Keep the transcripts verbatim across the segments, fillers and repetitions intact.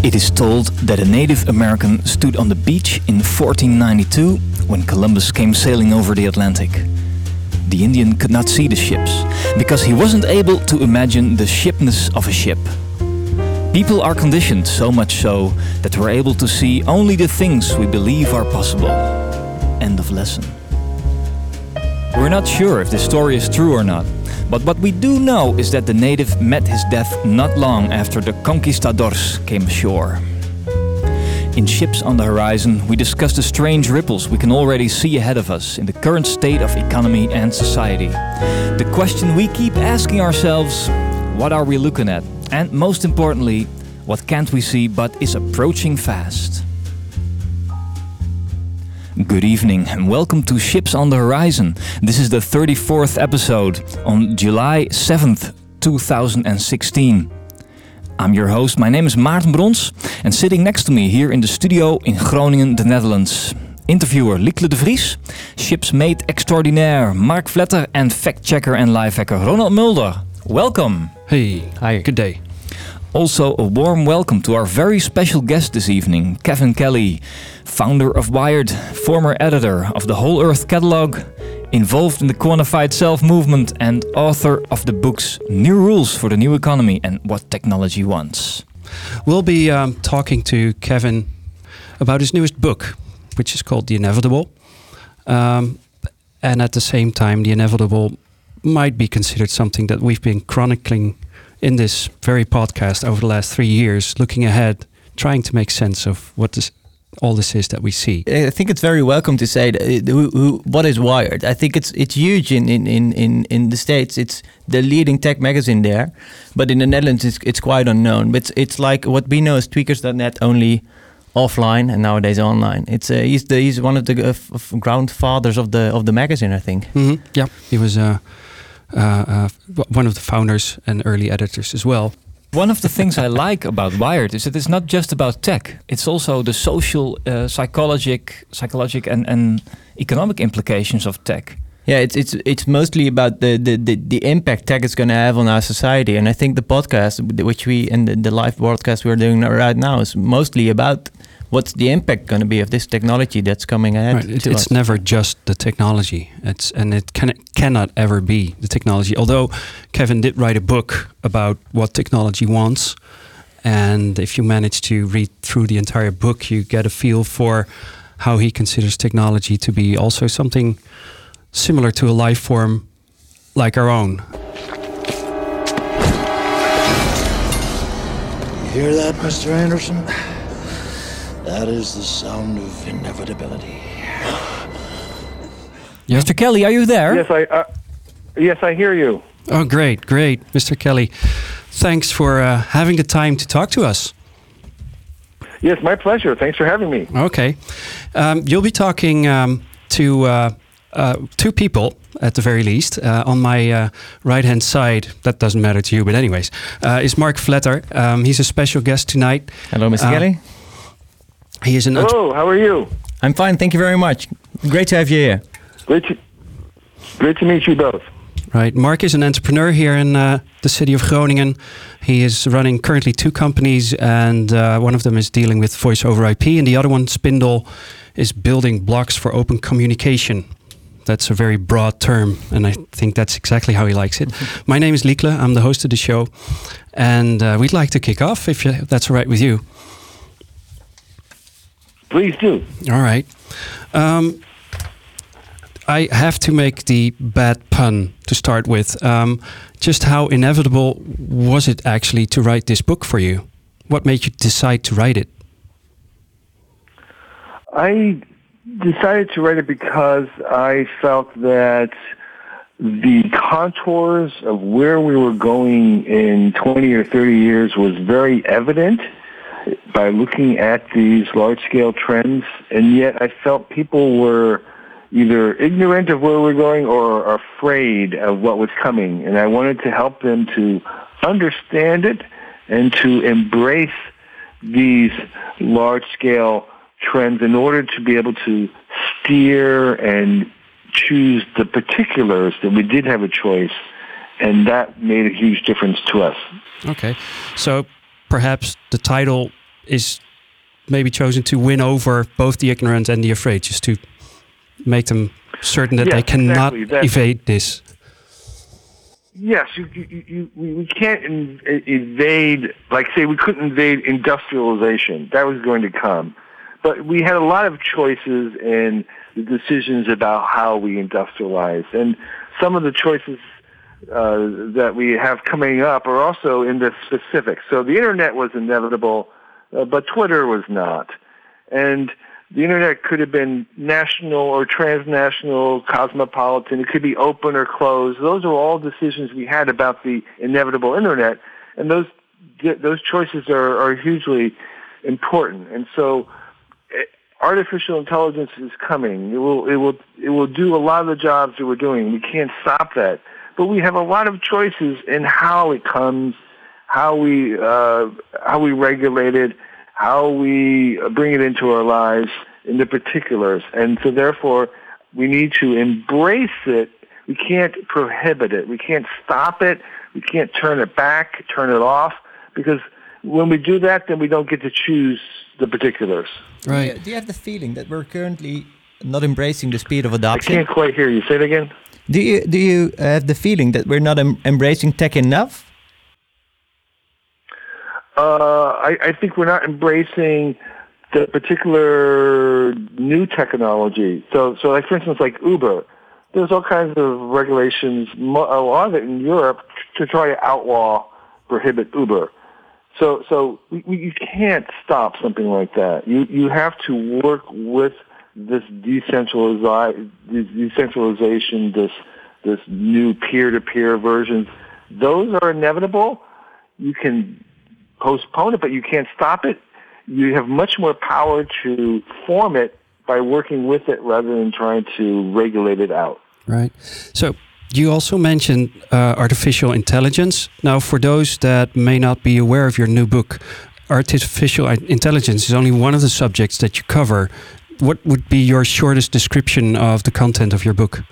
It is told that a Native American stood on the beach in fourteen ninety-two when Columbus came sailing over the Atlantic. The Indian could not see the ships because he wasn't able to imagine the shipness of a ship. People are conditioned so much so that we're able to see only the things we believe are possible. End of lesson. We're not sure if this story is true or not, but what we do know is that the native met his death not long after the conquistadors came ashore. In Ships on the Horizon, we discuss the strange ripples we can already see ahead of us in the current state of economy and society. The question we keep asking ourselves, what are we looking at? And most importantly, what can't we see but is approaching fast? Good evening and welcome to Ships on the Horizon. This is the thirty-fourth episode on July seventh, two thousand sixteen. I'm your host, my name is Maarten Brons, and sitting next to me here in the studio in Groningen, the Netherlands, interviewer Liekle de Vries, shipsmate extraordinaire Mark Vletter, and fact-checker and lifehacker Ronald Mulder. Welcome. Hey, hi, good day. Also, a warm welcome to our very special guest this evening, Kevin Kelly, founder of Wired, former editor of the Whole Earth Catalog, involved in the Quantified Self movement, and author of the books New Rules for the New Economy and What Technology Wants. We'll be um, talking to Kevin about his newest book, which is called The Inevitable. Um, and at the same time, The Inevitable might be considered something that we've been chronicling in this very podcast over the last three years, looking ahead, trying to make sense of what this, all this is that we see. I think it's very welcome to say that, uh, who, who, what is Wired. I think it's it's huge in, in, in, in the States. It's the leading tech magazine there, but in the Netherlands it's, it's quite unknown. But it's, it's like what we know as tweakers dot net, only offline and nowadays online. It's uh, he's the he's one of the uh, f- ground fathers of the of the magazine, I think. Mm-hmm. Yeah, he was Uh, Uh, uh, one of the founders and early editors as well. One of the things I like about Wired is that it's not just about tech. It's also the social, uh, psychologic, psychologic and, and economic implications of tech. Yeah, it's it's it's mostly about the the, the, the impact tech is going to have on our society. And I think the podcast, which we and the, the live broadcast we're doing right now, is mostly about what's the impact going to be of this technology that's coming ahead. Right. It, to it's us. never just the technology. It's and it can cannot ever be the technology. Although Kevin did write a book about what technology wants, and if you manage to read through the entire book, you get a feel for how he considers technology to be also something similar to a life form like our own. You hear that, Mister Anderson? That is the sound of inevitability. Yeah. Mister Kelly, are you there? Yes, I. Uh, yes, I hear you. Oh, great, great, Mister Kelly. Thanks for uh, having the time to talk to us. Yes, my pleasure. Thanks for having me. Okay, um, you'll be talking um, to uh, uh, two people at the very least. Uh, on my uh, right-hand side, that doesn't matter to you, but anyways, uh, is Mark Vletter. Um, he's a special guest tonight. Hello, Mister Uh, Kelly. He is an. Hello, how are you? I'm fine, thank you very much. Great to have you here. Great to, great to meet you both. Right, Mark is an entrepreneur here in uh, the city of Groningen. He is running currently two companies, and uh, one of them is dealing with voice over I P, and the other one, Spindle, is building blocks for open communication. That's a very broad term, and I think that's exactly how he likes it. My name is Liekle, I'm the host of the show, and uh, we'd like to kick off, if, you, if that's all right with you. Please do. All right. Um, I have to make the bad pun to start with. Um, just how inevitable was it actually to write this book for you? What made you decide to write it? I decided to write it because I felt that the contours of where we were going in twenty or thirty years was very evident by looking at these large-scale trends, and yet I felt people were either ignorant of where we're going or afraid of what was coming, and I wanted to help them to understand it and to embrace these large-scale trends in order to be able to steer and choose the particulars that we did have a choice, and that made a huge difference to us. Okay, so perhaps the title is maybe chosen to win over both the ignorant and the afraid, just to make them certain that Yes, they cannot exactly. That- evade this. Yes, you, you, you, we we can't in, evade, like say we couldn't invade industrialization. That was going to come. But we had a lot of choices in the decisions about how we industrialize. And some of the choices uh, that we have coming up are also in the specifics. So the internet was inevitable, uh, but Twitter was not. And the internet could have been national or transnational, cosmopolitan. It could be open or closed. Those are all decisions we had about the inevitable internet, and those those choices are, are hugely important. And so, artificial intelligence is coming. It will it will it will do a lot of the jobs that we're doing. We can't stop that, but we have a lot of choices in how it comes, how we uh, how we regulate it, how we bring it into our lives in the particulars. And so therefore, we need to embrace it. We can't prohibit it. We can't stop it. We can't turn it back, turn it off, because when we do that, then we don't get to choose the particulars. Right. Do you, do you have the feeling that we're currently not embracing the speed of I adoption? can't quite hear you. Say it again. Do you do you have the feeling that we're not em- embracing tech enough? Uh, I, I think we're not embracing the particular new technology. So, so like for instance, like Uber, there's all kinds of regulations, mo- a lot of it in Europe, to try to outlaw, prohibit Uber. So, so we, we, you can't stop something like that. You you have to work with this decentralizi- this decentralization, this this new peer-to-peer versions. Those are inevitable. You can postpone it, but you can't stop it. You have much more power to form it by working with it rather than trying to regulate it out. Right. So you also mentioned uh, artificial intelligence. Now, for those that may not be aware of your new book, artificial intelligence is only one of the subjects that you cover. What would be your shortest description of the content of your book?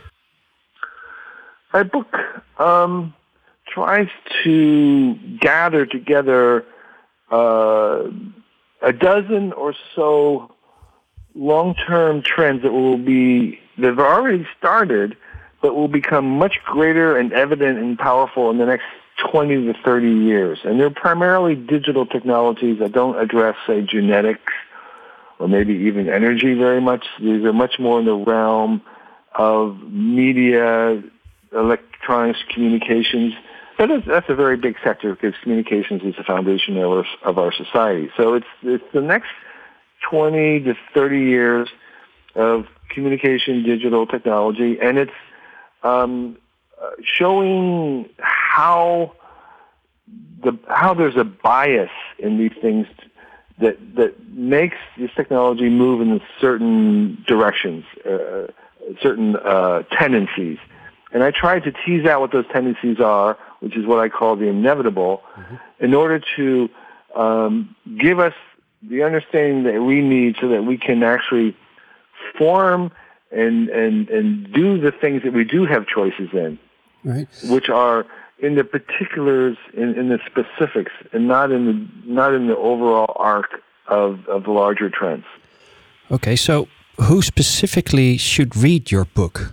My book um, tries to gather together uh, a dozen or so long-term trends that will be that have already started, but will become much greater and evident and powerful in the next twenty to thirty years. And they're primarily digital technologies that don't address, say, genetics or maybe even energy very much. These are much more in the realm of media, electronics, communications. That is, that's a very big sector because communications is the foundation of our, of our society. So it's it's the next twenty to thirty years of communication, digital technology, and it's um, uh, showing how the how there's a bias in these things that that makes this technology move in certain directions, uh, certain uh, tendencies. And I tried to tease out what those tendencies are, which is what I call the inevitable, mm-hmm. in order to um, give us the understanding that we need so that we can actually form and, and, and do the things that we do have choices in, right. which are in the particulars, in, in the specifics, and not in the not in the overall arc of, of the larger trends. Okay, so who specifically should read your book?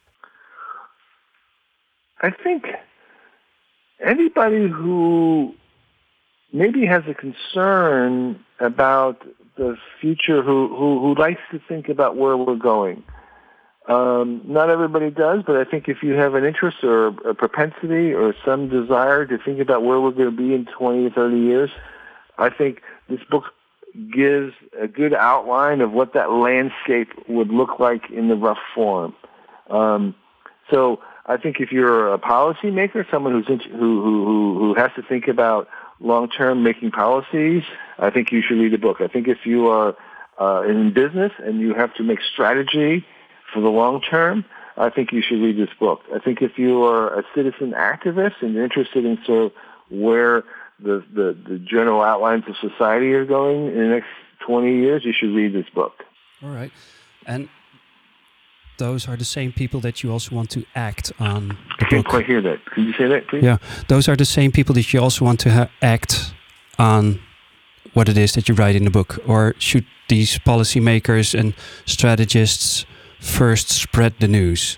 I think anybody who maybe has a concern about the future, who, who, who likes to think about where we're going. Um, not everybody does, but I think if you have an interest or a propensity or some desire to think about where we're going to be in twenty or thirty years, I think this book gives a good outline of what that landscape would look like in the rough form. Um, so I think if you're a policymaker, someone who's into, who, who, who has to think about long-term making policies, I think you should read the book. I think if you are uh, in business and you have to make strategy for the long term, I think you should read this book. I think if you are a citizen activist and you're interested in sort of where the, the, the general outlines of society are going in the next twenty years, you should read this book. All right. And those are the same people that you also want to act on the I can't book. quite hear that. Could you say that, please? Yeah, those are the same people that you also want to ha- act on what it is that you write in the book, or should these policymakers and strategists first spread the news?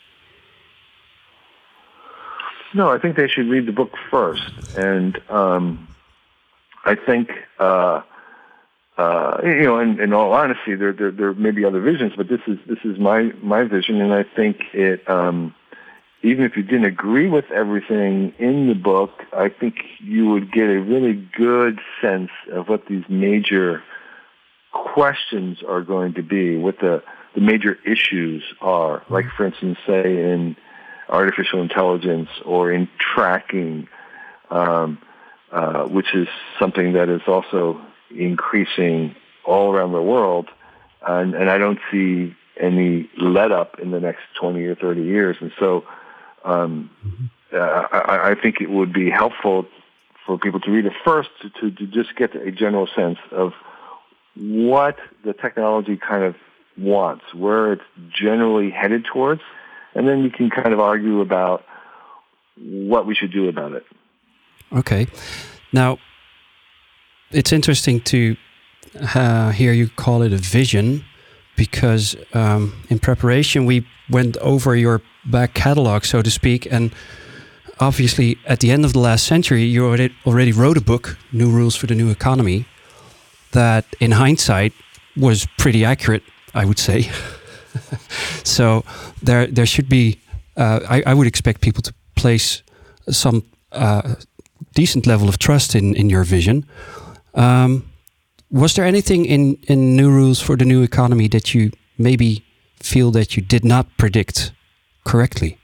No, I think they should read the book first, and um, I think uh, uh, you know, in, in all honesty, there, there there may be other visions, but this is this is my my vision, and I think it. Um, even if you didn't agree with everything in the book, I think you would get a really good sense of what these major questions are going to be, what the, the major issues are. Like, for instance, say in artificial intelligence or in tracking, um, uh, which is something that is also increasing all around the world. And, and I don't see any let up in the next twenty or thirty years. And so um, uh, I, I think it would be helpful for people to read it first to, to, to just get a general sense of what the technology kind of wants, where it's generally headed towards, and then you can kind of argue about what we should do about it. Okay. Now, it's interesting to uh, hear you call it a vision, because um, in preparation we went over your back catalog, so to speak, and obviously at the end of the last century you already, already wrote a book, New Rules for the New Economy, that in hindsight was pretty accurate, I would say. So there there should be, uh, I, I would expect people to place some uh, decent level of trust in, in your vision. Um, was there anything in, in New Rules for the New Economy that you maybe feel that you did not predict correctly?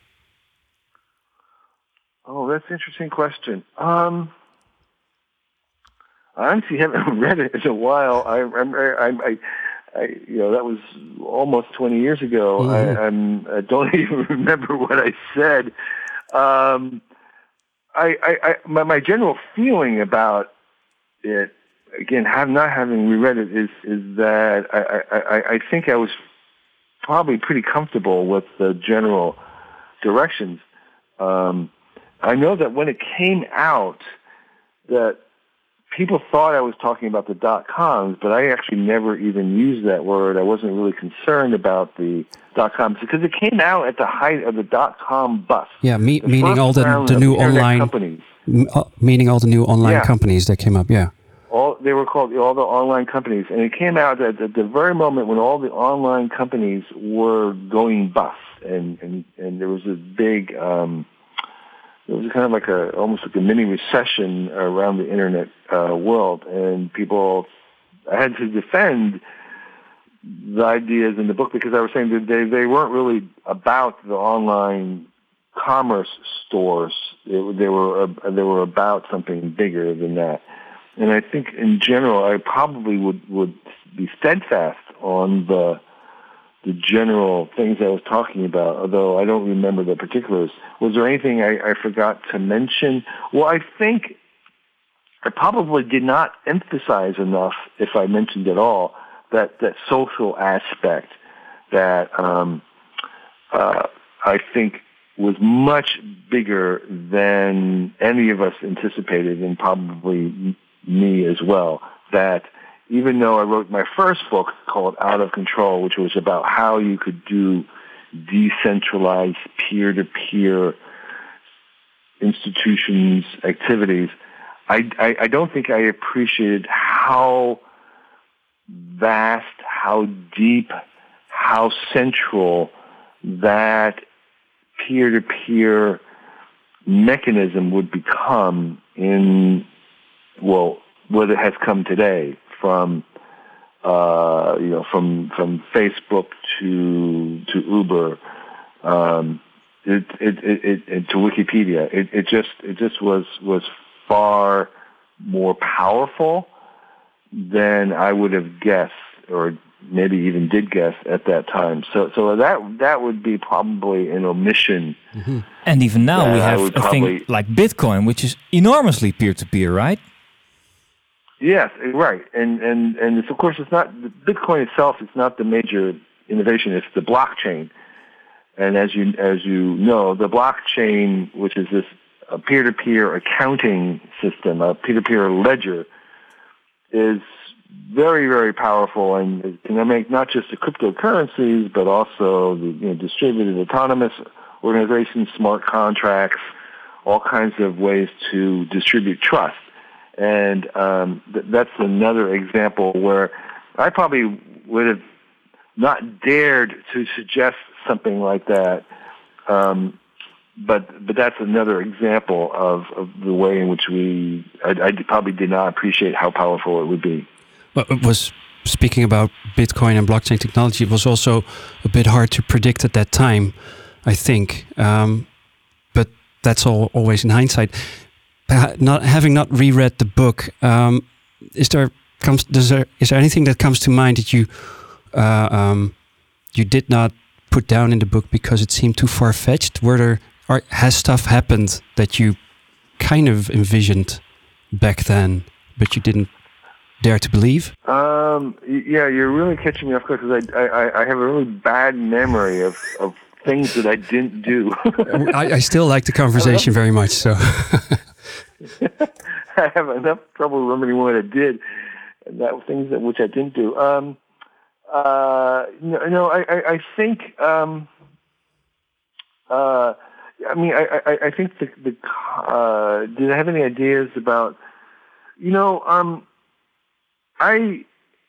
Oh, that's an interesting question. Um, I honestly haven't read it in a while. I, I'm, I, I, I, you know, that was almost twenty years ago. Mm-hmm. I, I'm, I don't even remember what I said. Um, I, I, I my, my general feeling about it, again, have not having reread it, is is that I, I, I think I was probably pretty comfortable with the general directions. Um, I know that when it came out, that people thought I was talking about the dot-coms, but I actually never even used that word. I wasn't really concerned about the dot-coms because it came out at the height of the dot-com bust. Yeah, me, meaning all the, the new online companies. M- uh, meaning all the new online yeah. companies that came up. Yeah, all they were called all the online companies, and it came out at, at the very moment when all the online companies were going bust, and and, and there was a big. Um, It was kind of like a, almost like a mini recession around the internet uh, world, and people, I had to defend the ideas in the book because I was saying that they, they weren't really about the online commerce stores. They, they were uh, they were about something bigger than that. And I think in general, I probably would, would be steadfast on the the general things I was talking about, although I don't remember the particulars. Was there anything I, I forgot to mention? Well, I think I probably did not emphasize enough, if I mentioned at all, that, that social aspect that um, uh, I think was much bigger than any of us anticipated, and probably me as well, that even though I wrote my first book called Out of Control, which was about how you could do decentralized peer-to-peer institutions activities, I, I, I don't think I appreciated how vast, how deep, how central that peer-to-peer mechanism would become in, well, what it has come today. From uh, you know, from from Facebook to to Uber, um, it, it, it, it, it to Wikipedia. It, it just it just was was far more powerful than I would have guessed, or maybe even did guess at that time. So so that that would be probably an omission. Mm-hmm. And even now we have a thing like Bitcoin, which is enormously peer to peer, right? Yes, right, and and and it's, of course, it's not Bitcoin itself. It's not the major innovation. It's the blockchain, and as you as you know, the blockchain, which is this a peer-to-peer accounting system, a peer-to-peer ledger, is very, very powerful and it can make not just the cryptocurrencies, but also the you know, distributed autonomous organizations, smart contracts, all kinds of ways to distribute trust. And um, th- that's another example where I probably would have not dared to suggest something like that. Um, but but that's another example of, of the way in which we, I, I probably did not appreciate how powerful it would be. Well, it was, speaking about Bitcoin and blockchain technology, it was also a bit hard to predict at that time, I think. Um, but that's all always in hindsight. Not having not reread the book, um, is there comes does there is there anything that comes to mind that you uh, um, you did not put down in the book because it seemed too far fetched? Were there or has stuff happened that you kind of envisioned back then, but you didn't dare to believe? Um, yeah, you're really catching me off guard because I, I I have a really bad memory of, of things that I didn't do. I, I still like the conversation very much. So. I have enough trouble remembering what I did, and that things that which I didn't do. Um, uh, no, no, I, I, I think. Um, uh, I mean, I, I, I think the, the uh, did I have any ideas about? You know, um, I,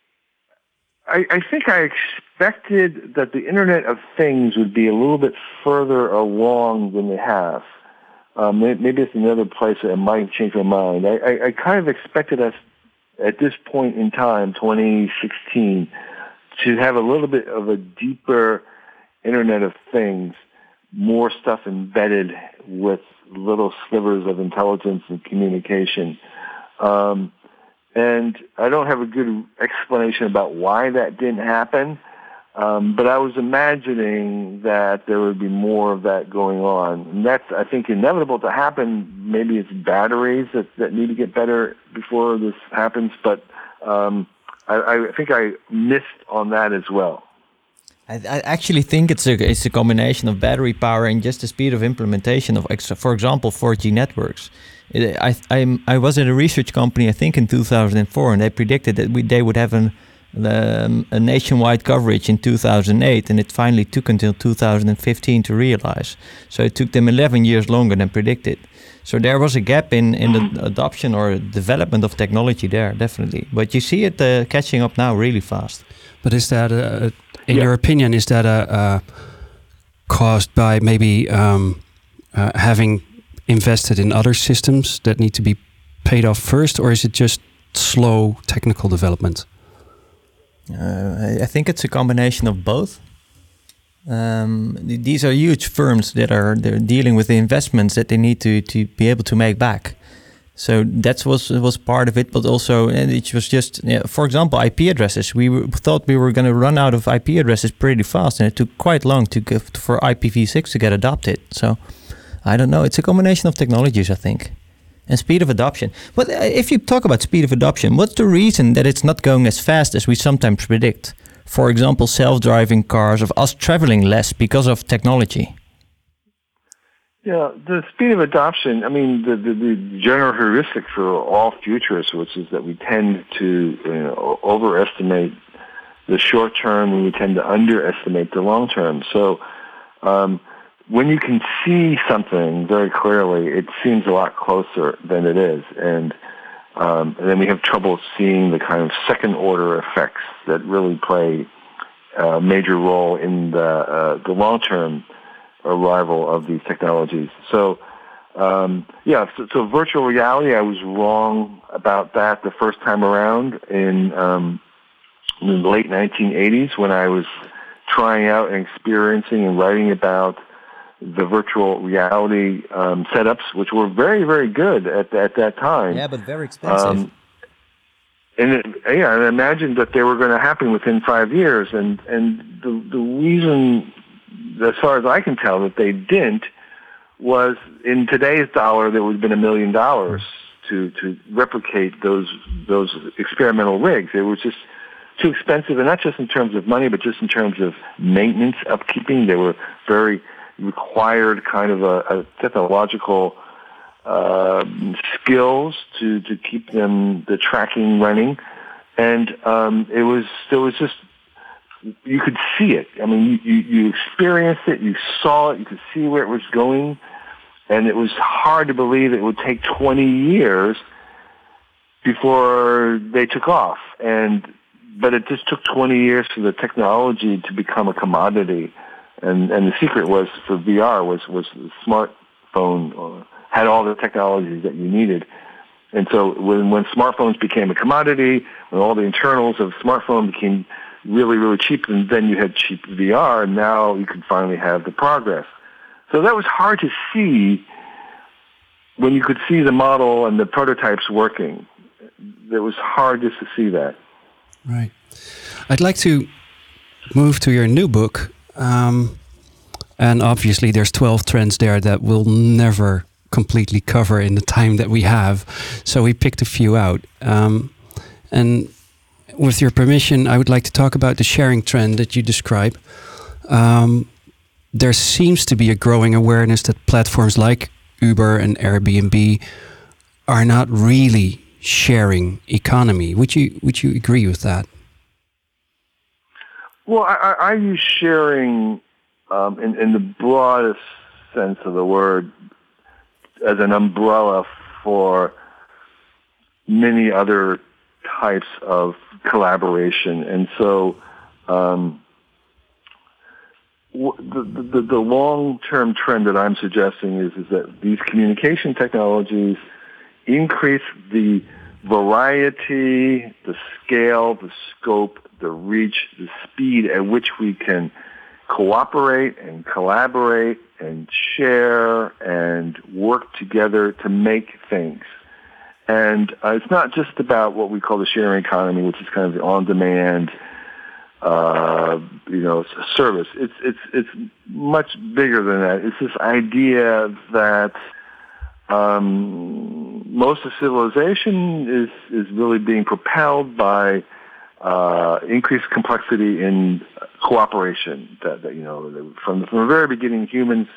I, I think I expected that the Internet of Things would be a little bit further along than they have. Um, maybe it's another place that I might change my mind. I, I, I kind of expected us at this point in time, twenty sixteen, to have a little bit of a deeper Internet of Things, more stuff embedded with little slivers of intelligence and communication. Um, and I don't have a good explanation about why that didn't happen. Um, but I was imagining that there would be more of that going on. And that's, I think, inevitable to happen. Maybe it's batteries that, that need to get better before this happens. But um, I, I think I missed on that as well. I, I actually think it's a it's a combination of battery power and just the speed of implementation of, for example, four G networks. It, I I'm, I was at a research company, I think, in two thousand four, and they predicted that we, they would have an Um, a nationwide coverage in two thousand eight, and it finally took until two thousand fifteen to realize. So it took them eleven years longer than predicted. So there was a gap in, in the adoption or development of technology there, definitely. But you see it uh, catching up now really fast. But is that, uh, in yeah. your opinion, is that uh, uh, caused by maybe um, uh, having invested in other systems that need to be paid off first, or is it just slow technical development? Uh, I think it's a combination of both. Um, th- these are huge firms that are they're dealing with the investments that they need to, to be able to make back. So that was was part of it, but also and it was just, you know, for example, I P addresses. We were, thought we were going to run out of I P addresses pretty fast, and it took quite long to go for I P v six to get adopted. So I don't know. It's a combination of technologies, I think. And speed of adoption. But if you talk about speed of adoption, what's the reason that it's not going as fast as we sometimes predict? For example, self-driving cars, of us traveling less because of technology. Yeah, the speed of adoption, I mean, the, the, the general heuristic for all futurists, which is that we tend to you know, overestimate the short term and we tend to underestimate the long term. So, um, when you can see something very clearly, it seems a lot closer than it is. And, um, and then we have trouble seeing the kind of second-order effects that really play a major role in the, uh, the long-term arrival of these technologies. So, um, yeah, so, so virtual reality, I was wrong about that the first time around in, um, in the late nineteen eighties when I was trying out and experiencing and writing about the virtual reality um, setups, which were very, very good at, at that time. Yeah, but very expensive. Um, and it, yeah, I imagined that they were going to happen within five years. And, and the, the reason, as far as I can tell, that they didn't was in today's dollar, there would have been a million dollars to to replicate those those experimental rigs. It was just too expensive, and not just in terms of money, but just in terms of maintenance, upkeeping. They were very required kind of a, a technological uh, skills to, to keep them, the tracking running. And um, it was, there was just, you could see it. I mean, you, you, you experienced it, you saw it, you could see where it was going, and it was hard to believe it would take twenty years before they took off. And but it just took twenty years for the technology to become a commodity. And and the secret was for V R was was the smartphone uh, had all the technologies that you needed. And so when when smartphones became a commodity, when all the internals of smartphone became really, really cheap, and then you had cheap V R, and now you can finally have the progress. So that was hard to see when you could see the model and the prototypes working. It was hard just to see that. Right. I'd like to move to your new book. Um, and obviously there's twelve trends there that we'll never completely cover in the time that we have. So we picked a few out. Um, and with your permission, I would like to talk about the sharing trend that you describe. Um, there seems to be a growing awareness that platforms like Uber and Airbnb are not really sharing economy. Would you would you agree with that? Well, I, I use sharing um, in, in the broadest sense of the word as an umbrella for many other types of collaboration. And so um, the, the, the long-term trend that I'm suggesting is, is that these communication technologies increase the variety, the scale, the scope, the reach, the speed at which we can cooperate and collaborate and share and work together to make things. And uh, it's not just about what we call the sharing economy, which is kind of the on-demand, uh, you know, service. It's it's it's much bigger than that. It's this idea that um, most of civilization is is really being propelled by uh, increased complexity in cooperation. That, that you know, from from the very beginning, humans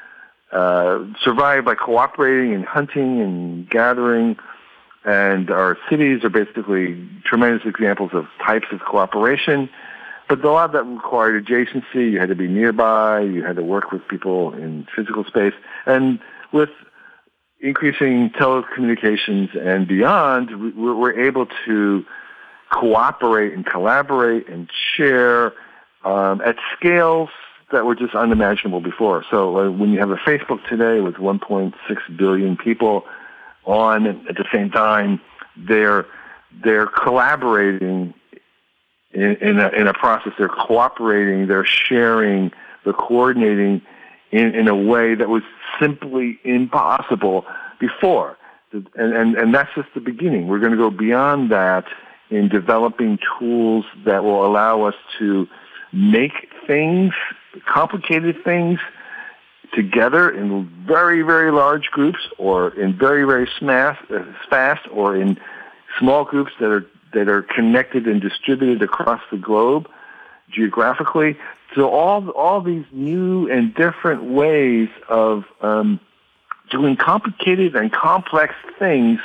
uh, survived by cooperating and hunting and gathering. And our cities are basically tremendous examples of types of cooperation. But a lot of that required adjacency. You had to be nearby. You had to work with people in physical space. And with increasing telecommunications and beyond, we're able to cooperate and collaborate and share um, at scales that were just unimaginable before. So uh, when you have a Facebook today with one point six billion people on at the same time, they're they're collaborating in, in a in a process. They're cooperating. They're sharing. They're coordinating in, in a way that was simply impossible before. And, and and that's just the beginning. We're going to go beyond that in developing tools that will allow us to make things, complicated things, together in very, very large groups, or in very, very smash, uh, fast, or in small groups that are that are connected and distributed across the globe geographically. So all all these new and different ways of um, doing complicated and complex things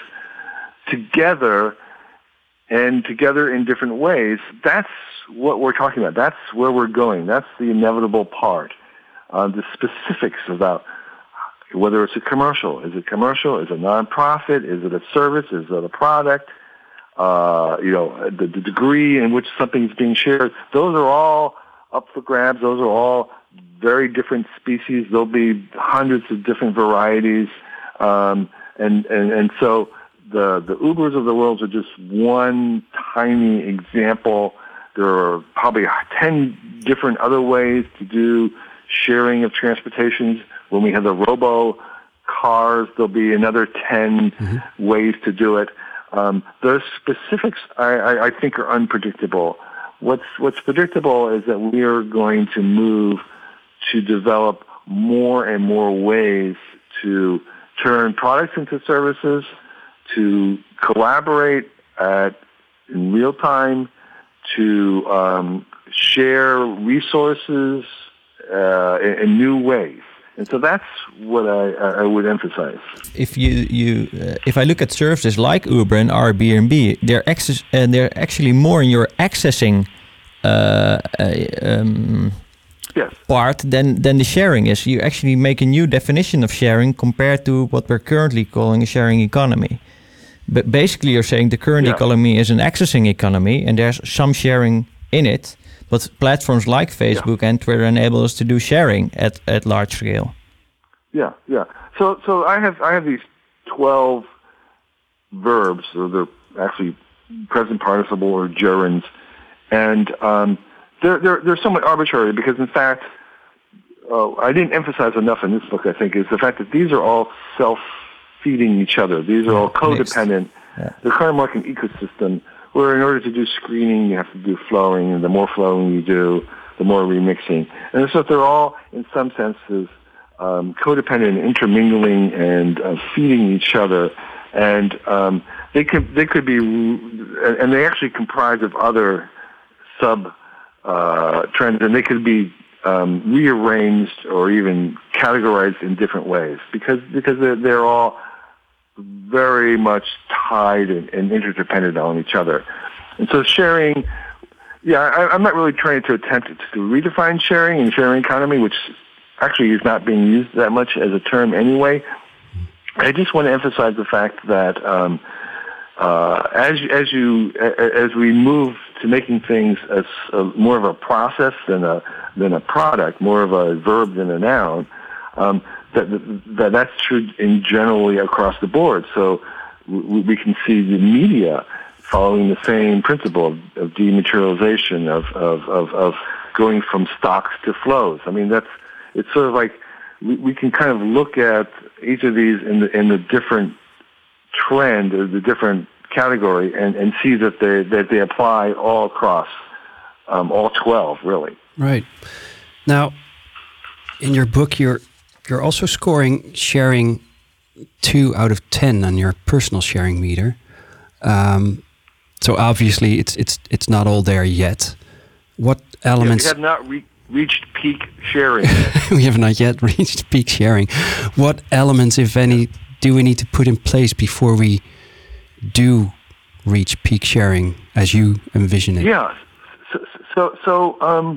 together, and together in different ways. That's what we're talking about. That's where we're going. That's the inevitable part. Uh, the specifics about whether it's a commercial. Is it commercial? Is it a nonprofit? Is it a service? Is it a product? Uh, you know, the, the degree in which something's being shared. Those are all up for grabs. Those are all very different species. There'll be hundreds of different varieties. Um, and, and, and so the, the Ubers of the world are just one tiny example. There are probably ten different other ways to do sharing of transportations. When we have the robo cars, there'll be another ten mm-hmm. ways to do it. Um, those specifics, I, I, I think, are unpredictable. What's what's predictable is that we are going to move to develop more and more ways to turn products into services, to collaborate at in real time, to um, share resources Uh, in, in new ways. And so that's what I, I would emphasize. If you you uh, if I look at services like Uber and Airbnb, they're access and uh, they're actually more in your accessing uh, uh, um, yes. part than than the sharing is. You actually make a new definition of sharing compared to what we're currently calling a sharing economy. But basically, you're saying the current yeah. economy is an accessing economy, and there's some sharing in it. But platforms like Facebook yeah. and Twitter enable us to do sharing at, at large scale. Yeah, yeah. So so I have I have these twelve verbs, so they're actually present participle or gerunds, and um, they're they're they're somewhat arbitrary because in fact uh, I didn't emphasize enough in this book. I think is the fact that these are all self-feeding each other. These are all codependent. Yeah. They're kind of like an ecosystem. Where in order to do screening, you have to do flowing, and the more flowing you do, the more remixing. And so they're all, in some senses, um, codependent, intermingling, and uh, feeding each other. And um, they could they could be, and they actually comprise of other sub uh, trends, and they could be um, rearranged or even categorized in different ways because because they're, they're all very much tied and, and interdependent on each other. And so sharing, yeah, I, I'm not really trying to attempt to redefine sharing and sharing economy, which actually is not being used that much as a term anyway. I just want to emphasize the fact that um, uh, as, as, you, as we move to making things as a, more of a process than a, than a product, more of a verb than a noun, um, That, that that's true in generally across the board. So we, we can see the media following the same principle of, of dematerialization, of, of, of, of going from stocks to flows. I mean, that's it's sort of like we, we can kind of look at each of these in the in the different trend or the different category and, and see that they that they apply all across um, all twelve, really. Right. Now, in your book, you're You're also scoring sharing two out of ten on your personal sharing meter. Um, so obviously, it's it's it's not all there yet. What elements? Yeah, we have not re- reached peak sharing. We have not yet reached peak sharing. What elements, if any, do we need to put in place before we do reach peak sharing, as you envision it? Yeah. So so, so um.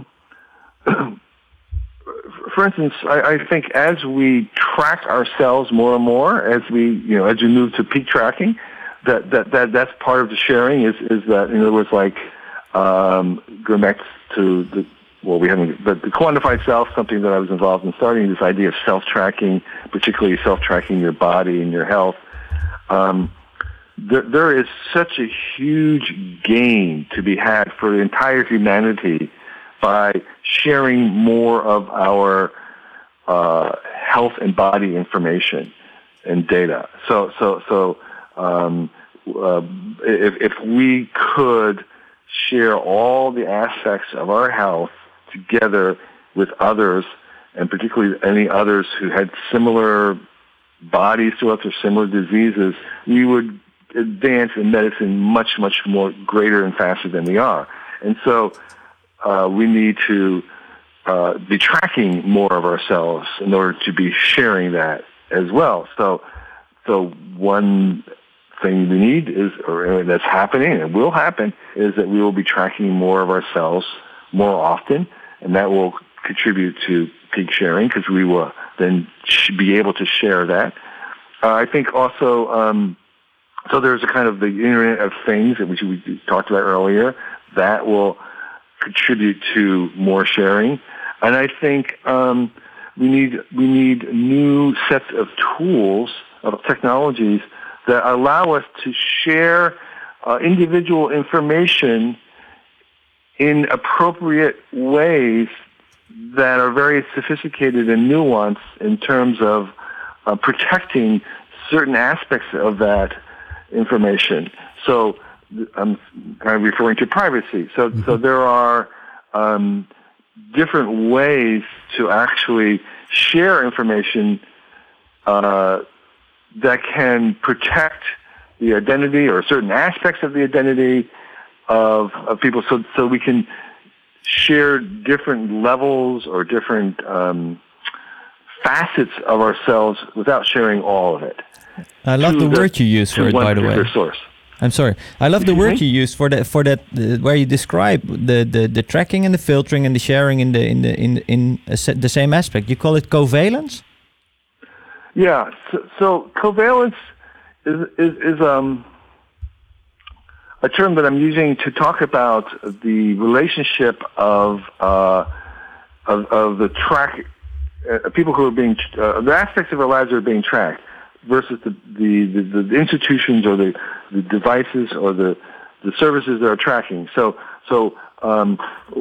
For instance, I, I think as we track ourselves more and more, as we, you know, as we move to peak tracking, that that, that that's part of the sharing. Is is that in other words, like um, going back to the well, we haven't, but the quantified self, something that I was involved in starting, this idea of self-tracking, particularly self-tracking your body and your health. Um, there, there is such a huge gain to be had for the entire humanity by sharing more of our uh, health and body information and data. So, so, so um, uh, if, if we could share all the aspects of our health together with others, and particularly any others who had similar bodies to us or similar diseases, we would advance in medicine much, much more greater and faster than we are. And so uh, we need to uh, be tracking more of ourselves in order to be sharing that as well. So, so one thing we need is, or that's happening and will happen, is that we will be tracking more of ourselves more often, and that will contribute to peak sharing because we will then be able to share that. Uh, I think also, um, so there's a kind of the Internet of Things that we, we talked about earlier that will contribute to more sharing, and I think um, we need we need new sets of tools of technologies that allow us to share uh, individual information in appropriate ways that are very sophisticated and nuanced in terms of uh, protecting certain aspects of that information. So I'm kind of referring to privacy. So, mm-hmm. so there are um, different ways to actually share information uh, that can protect the identity or certain aspects of the identity of, of people, so so we can share different levels or different um, facets of ourselves without sharing all of it. I love the, the word you use for it, by the way. Source. I'm sorry. I love the Excuse word me? you use for that. For that, uh, where you describe the, the, the tracking and the filtering and the sharing in the in the in in a se- the same aspect. You call it covalence. Yeah. So, so covalence is is, is um. a term that I'm using to talk about the relationship of uh, of, of the track uh, people who are being uh, the aspects of our lives that are being tracked versus the the, the, the institutions or the, the devices or the the services that are tracking. So so um,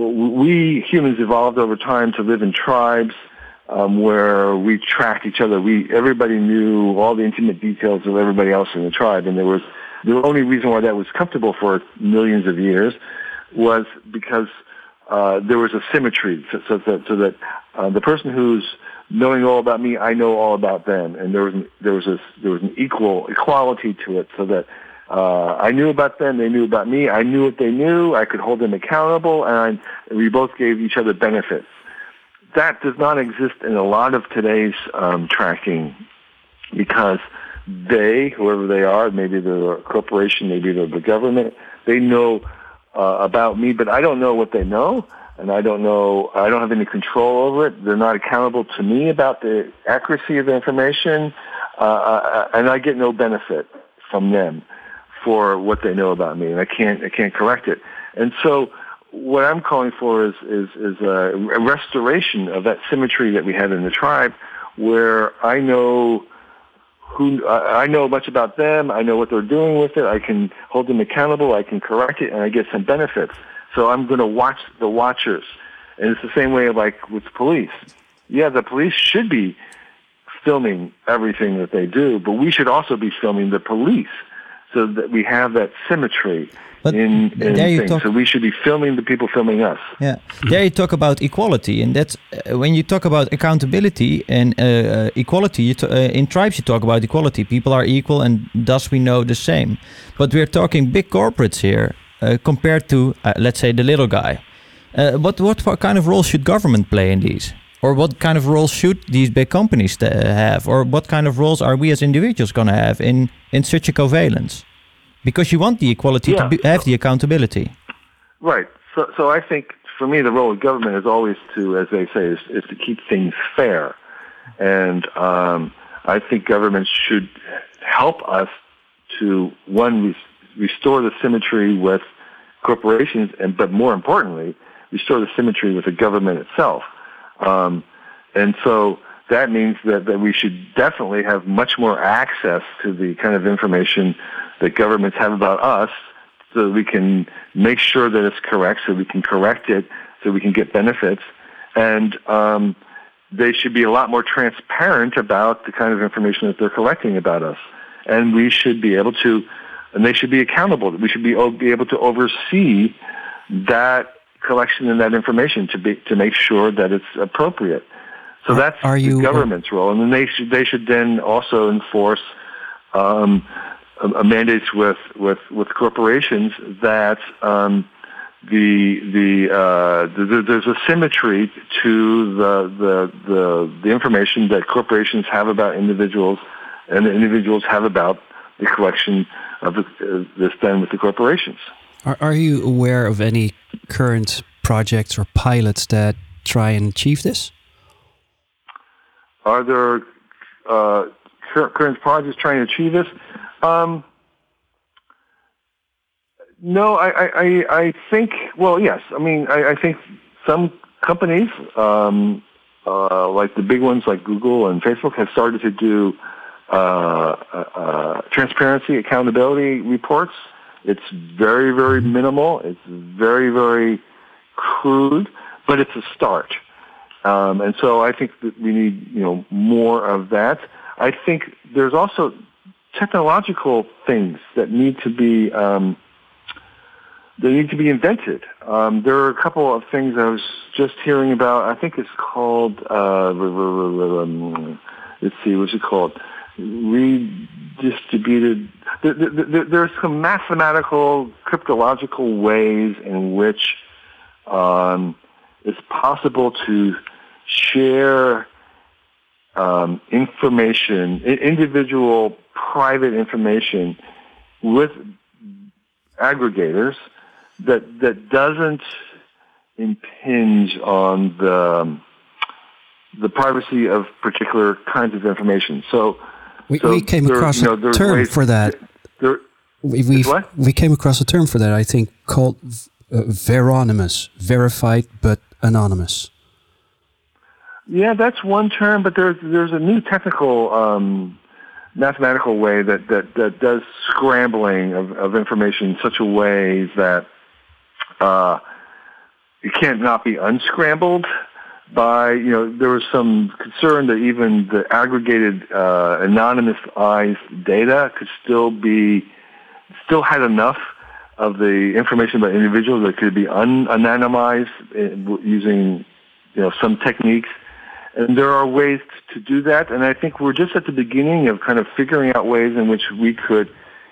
we humans evolved over time to live in tribes um, where we tracked each other. We everybody knew all the intimate details of everybody else in the tribe, and there was. The only reason why that was comfortable for millions of years was because uh, there was a symmetry, so, so that, so that uh, the person who's knowing all about me, I know all about them, and there was an, there was a, there was an equal equality to it, so that uh, I knew about them, they knew about me, I knew what they knew, I could hold them accountable, and I, we both gave each other benefits. That does not exist in a lot of today's um, tracking because they, whoever they are, maybe they're a corporation, maybe they're the government, they know uh, about me, but I don't know what they know, and I don't know, I don't have any control over it. They're not accountable to me about the accuracy of the information, uh, and I get no benefit from them for what they know about me, and I can't, I can't correct it. And so what I'm calling for is, is, is a restoration of that symmetry that we had in the tribe, where I know Who I know much about them. I know what they're doing with it. I can hold them accountable. I can correct it, and I get some benefits. So I'm going to watch the watchers, and it's the same way like with police. Yeah, the police should be filming everything that they do, but we should also be filming the police, so that we have that symmetry. But in, in there you things. talk- So we should be filming the people filming us. Yeah, there you talk about equality, and that's uh, when you talk about accountability and uh, uh, equality. You t- uh, in tribes, you talk about equality. People are equal, and thus we know the same. But we're talking big corporates here uh, compared to, uh, let's say, the little guy. Uh, what what kind of role should government play in these, or what kind of role should these big companies t- have, or what kind of roles are we as individuals going to have in in such a covalence? Because you want the equality Yeah. to be, have the accountability. Right. So, so I think for me, the role of government is always to, as they say, is, is to keep things fair. And um, I think governments should help us to, one, res- restore the symmetry with corporations, and but more importantly, restore the symmetry with the government itself. Um, and so that means that, that we should definitely have much more access to the kind of information that governments have about us, so that we can make sure that it's correct, so we can correct it, so we can get benefits. And um, they should be a lot more transparent about the kind of information that they're collecting about us. And we should be able to, and they should be accountable. We should be, be able to oversee that collection and that information to be to make sure that it's appropriate. So Are- that's are you- the government's role. And then they should, they should then also enforce um, a, a mandates with, with, with corporations that um, the the, uh, the there's a symmetry to the, the the the information that corporations have about individuals, and the individuals have about the collection of the, uh, that's done with the corporations. Are, are you aware of any current projects or pilots that try and achieve this? Are there uh, cur- current projects trying to achieve this? Um, no, I, I, I, I think, well, yes. I mean, I, I think some companies, um, uh, like the big ones like Google and Facebook, have started to do uh, uh, transparency, accountability reports. It's very, very minimal. It's very, very crude, but it's a start. Um, and so I think that we need, you know, more of that. I think there's also technological things that need to be um, they need to be invented. Um, there are a couple of things I was just hearing about. I think it's called. Uh, um, let's see, what's it called? Redistributed. There, there, there's some mathematical, cryptological ways in which um, it's possible to share um, information, i- individual private information with aggregators that that doesn't impinge on the the privacy of particular kinds of information. So We, so we came there- across you know, a there's term ways- for that. There, We we what? we came across a term for that. I think called uh, veronymous, verified but anonymous. Yeah, that's one term, but there's there's a new technical um, mathematical way that, that, that does scrambling of, of information in such a way that uh, it can't not be unscrambled by, you know, there was some concern that even the aggregated uh, anonymized data could still be, still had enough of the information about individuals that could be un-anonymized using, you know, some techniques. And there are ways to do that, and I think we're just at the beginning of kind of figuring out ways in which we could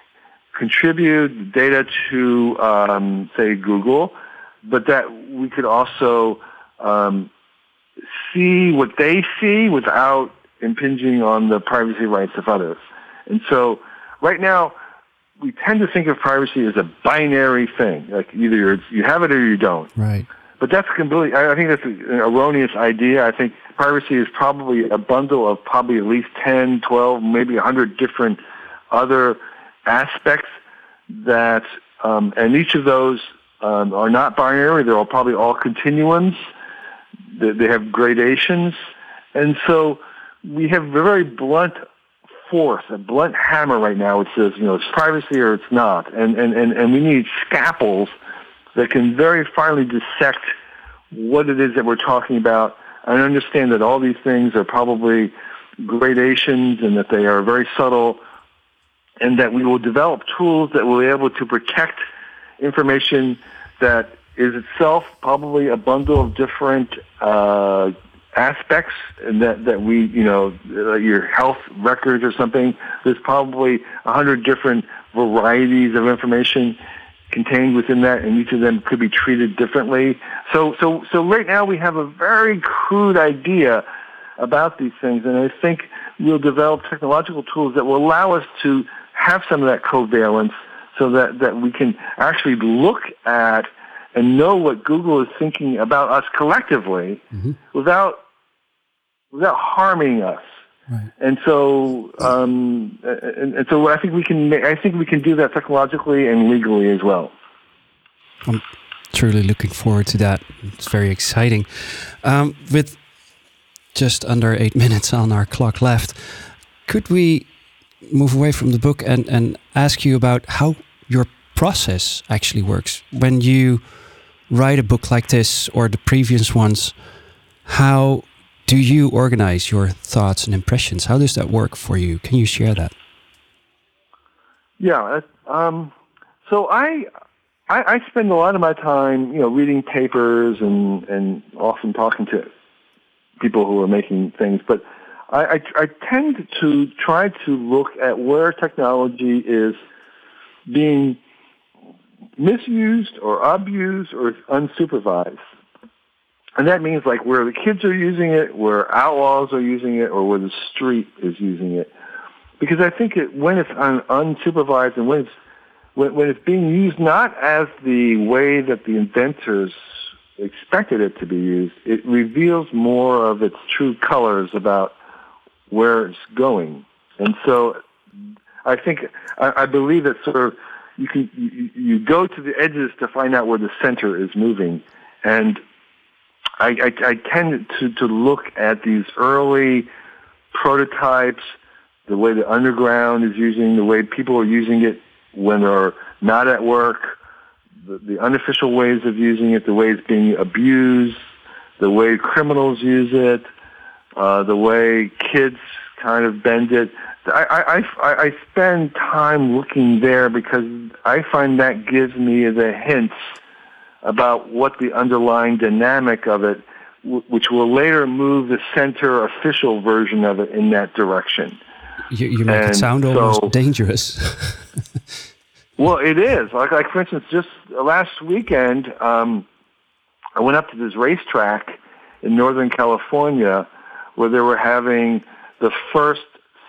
contribute data to, um, say, Google, but that we could also um, see what they see without impinging on the privacy rights of others. And so right now, we tend to think of privacy as a binary thing, like either you're, you have it or you don't. Right. But that's completely, I think that's an erroneous idea. I think privacy is probably a bundle of probably at least ten, twelve, maybe one hundred different other aspects that, um, and each of those um, are not binary. They're all probably all continuums. They, they have gradations. And so we have a very blunt force, a blunt hammer right now which says, you know, it's privacy or it's not. And, and, and, and we need scalpels that can very finely dissect what it is that we're talking about. I understand that all these things are probably gradations and that they are very subtle, and that we will develop tools that will be able to protect information that is itself probably a bundle of different uh, aspects, and that, that we, you know, uh, your health records or something, there's probably a hundred different varieties of information contained within that, and each of them could be treated differently. So, so, so right now we have a very crude idea about these things, and I think we'll develop technological tools that will allow us to have some of that covalence, so that, that we can actually look at and know what Google is thinking about us collectively, mm-hmm. without without harming us. Right. And so, um, and, and so, I think we can. I think we can do that technologically and legally as well. I'm truly looking forward to that. It's very exciting. Um, with just under eight minutes on our clock left, could we move away from the book and and ask you about how your process actually works when you write a book like this or the previous ones? How do you organize your thoughts and impressions? How does that work for you? Can you share that? Yeah. Um, so I, I I spend a lot of my time, you know, reading papers and, and often talking to people who are making things. But I, I, I tend to try to look at where technology is being misused or abused or unsupervised. And that means like where the kids are using it, where outlaws are using it, or where the street is using it. Because I think it, when it's un, unsupervised and when it's, when, when it's being used not as the way that the inventors expected it to be used, it reveals more of its true colors about where it's going. And so I think, I, I believe that sort of you can you, you go to the edges to find out where the center is moving. And I, I, I tend to, to look at these early prototypes, the way the underground is using, the way people are using it when they're not at work, the, the unofficial ways of using it, the way it's being abused, the way criminals use it, uh, the way kids kind of bend it. I, I, I spend time looking there because I find that gives me the hints about what the underlying dynamic of it, w- which will later move the center official version of it in that direction. You, you make and it sound so, almost dangerous. Well, it is. Like, like for instance, just last weekend, um, I went up to this racetrack in Northern California where they were having the first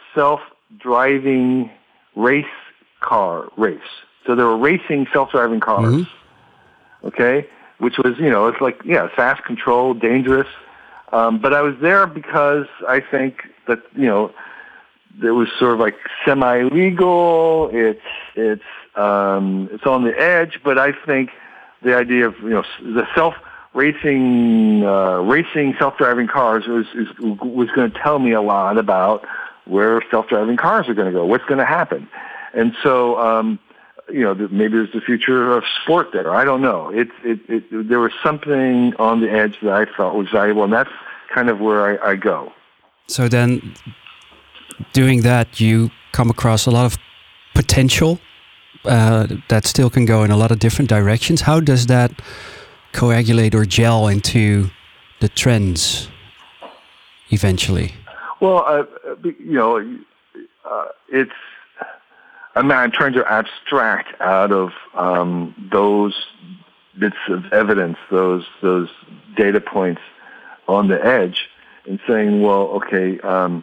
self-driving race car race. So they were racing self-driving cars, mm-hmm. okay, which was, you know, it's like, yeah, fast, controlled, dangerous. Um, but I was there because I think that, you know, it was sort of like semi-legal. It's it's um, it's on the edge, but I think the idea of, you know, the self-racing uh, racing self-driving cars was is, was going to tell me a lot about where self-driving cars are going to go, what's going to happen, and so um, you know, maybe there's the future of sport there. I don't know. It, it it there was something on the edge that I felt was valuable, and that's kind of where I, I go. So then, doing that, you come across a lot of potential uh, that still can go in a lot of different directions. How does that coagulate or gel into the trends eventually? Well, uh, you know, uh, it's. I mean, I'm trying to abstract out of um, those bits of evidence, those those data points on the edge, and saying, well, okay. Um,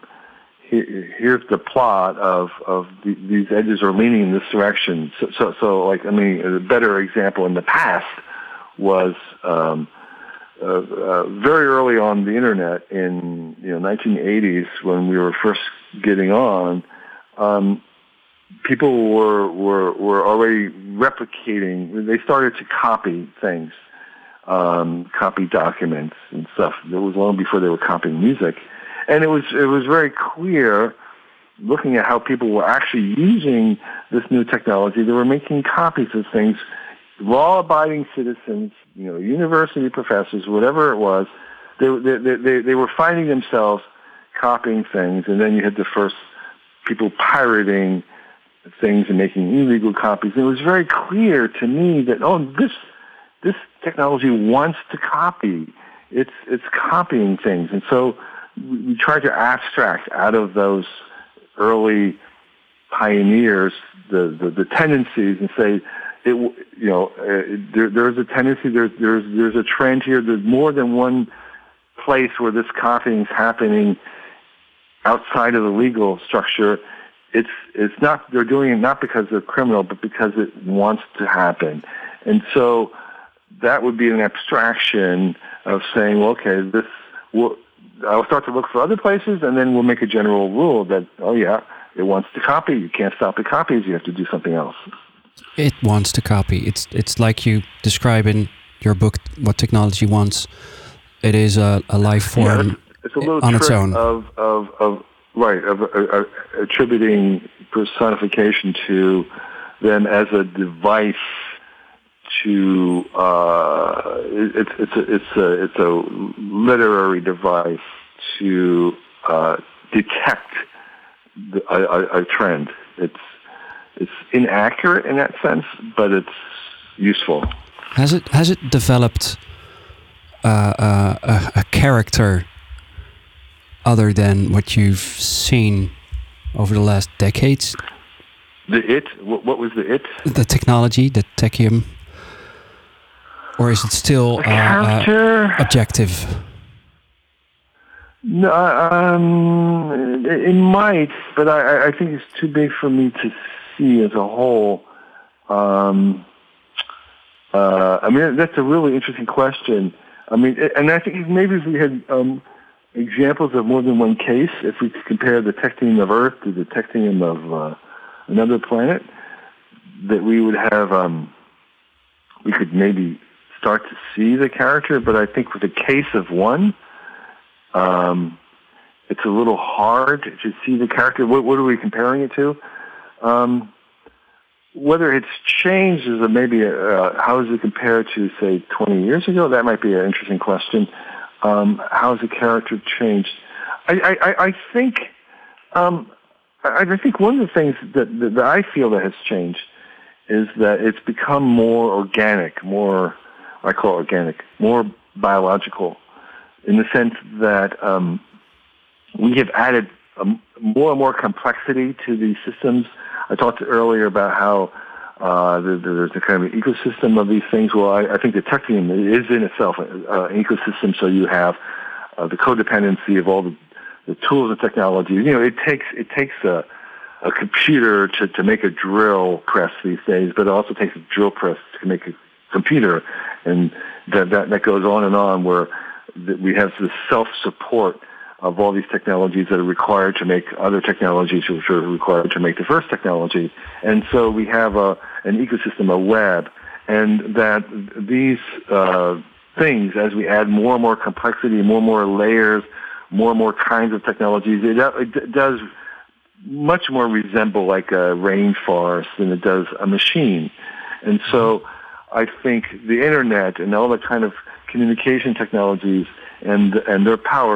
Here's the plot of of the, these edges are leaning in this direction. So, so, so, like, I mean, a better example in the past was um, uh, uh, very early on the internet in you know nineteen eighties when we were first getting on. Um, people were were were already replicating. They started to copy things, um, copy documents and stuff. It was long before they were copying music. And it was it was very clear, looking at how people were actually using this new technology. They were making copies of things. Law-abiding citizens, you know, university professors, whatever it was, they they they, they were finding themselves copying things. And then you had the first people pirating things and making illegal copies. And it was very clear to me that oh, this this technology wants to copy. It's it's copying things, and so. We try to abstract out of those early pioneers the, the, the tendencies and say, it, you know, uh, there, there's a tendency, there's, there's, there's a trend here. There's more than one place where this copying is happening outside of the legal structure. It's, it's not, they're doing it not because they're criminal, but because it wants to happen. And so that would be an abstraction of saying, well, okay, this will, I'll start to look for other places, and then we'll make a general rule that, oh yeah, it wants to copy. You can't stop the copies. You have to do something else. It wants to copy. It's it's like you describe in your book what technology wants. It is a, a life form yeah, it's, it's a little on trick its own. Of, of, of, right, of uh, uh, attributing personification to them as a device to uh, it's it's a, it's a it's a literary device to uh, detect the, a, a, a trend. It's it's inaccurate in that sense, but it's useful. Has it has it developed uh, uh, a, a character other than what you've seen over the last decades? The it? What, what was the it? The technology, the techium. Or is it still uh, uh, objective? No, um, it, it might, but I, I think it's too big for me to see as a whole. Um, uh, I mean, that's a really interesting question. I mean, and I think maybe if we had um, examples of more than one case, if we could compare the technium of Earth to the technium of uh, another planet, that we would have, um, we could maybe start to see the character, but I think with the case of one, um, it's a little hard to see the character. What, what are we comparing it to? Um, whether it's changed is a maybe a, uh, how is it compared to, say, twenty years ago? That might be an interesting question. Um, how has the character changed? I, I, I think um, I, I think one of the things that, that, that I feel that has changed is that it's become more organic, more I call it organic, more biological, in the sense that um, we have added um, more and more complexity to these systems. I talked earlier about how uh, there's a kind of an ecosystem of these things. Well, I, I think the technium is in itself uh, an ecosystem, so you have uh, the codependency of all the the tools and technologies. You know, it takes it takes a a computer to, to make a drill press these days, but it also takes a drill press to make a computer, and that that, that goes on and on, where we have this self-support of all these technologies that are required to make other technologies which are required to make the first technology. And so we have a, an ecosystem, a web, and that these uh, things, as we add more and more complexity, more and more layers, more and more kinds of technologies, it, it does much more resemble like a rainforest than it does a machine. And so I think the internet and all the kind of communication technologies and and their power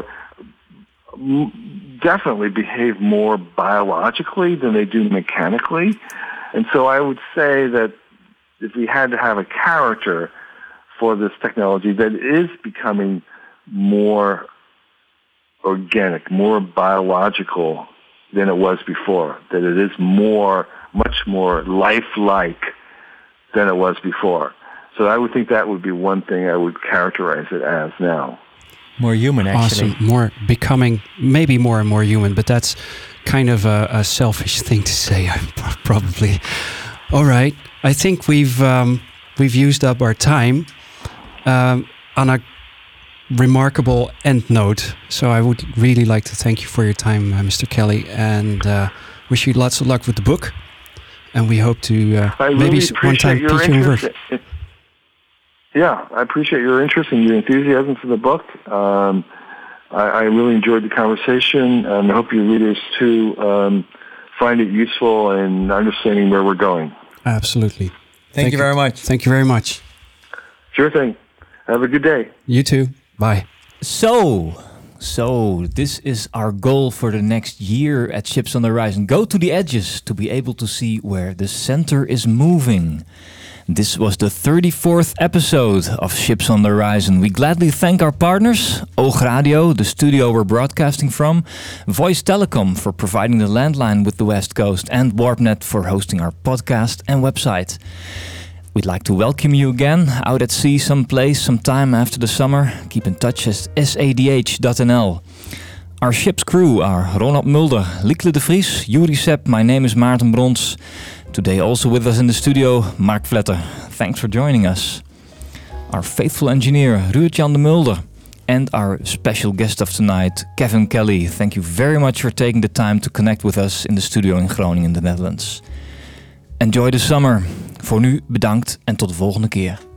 definitely behave more biologically than they do mechanically. And so I would say that if we had to have a character for this technology, that is becoming more organic, more biological than it was before, that it is more, much more lifelike than it was before. So I would think that would be one thing I would characterize it as now. More human, actually. Awesome. More becoming, maybe more and more human, but that's kind of a, a selfish thing to say, probably. All right. I think we've um, we've used up our time um, on a remarkable end note. So I would really like to thank you for your time, uh, Mister Kelly, and uh, wish you lots of luck with the book. And we hope to uh, really maybe one time teach you in work. Yeah, I appreciate your interest and your enthusiasm for the book. Um, I, I really enjoyed the conversation, and I hope your readers too um, find it useful in understanding where we're going. Absolutely. Thank, Thank you very much. Thank you very much. Sure thing. Have a good day. You too. Bye. So, so this is our goal for the next year at Ships on the Horizon. Go to the edges to be able to see where the center is moving. This was the thirty-fourth episode of Ships on the Horizon. We gladly thank our partners, Oog Radio, the studio we're broadcasting from, Voice Telecom for providing the landline with the West Coast, and WarpNet for hosting our podcast and website. We'd like to welcome you again out at sea someplace, sometime after the summer. Keep in touch at s a d h dot n l. Our ship's crew are Ronald Mulder, Liekle de Vries, Juri Sepp, my name is Maarten Brons. Today also with us in the studio, Mark Vletter. Thanks for joining us. Our faithful engineer, Ruud-Jan de Mulder. And our special guest of tonight, Kevin Kelly. Thank you very much for taking the time to connect with us in the studio in Groningen, the Netherlands. Enjoy the summer. Voor nu bedankt en tot de volgende keer.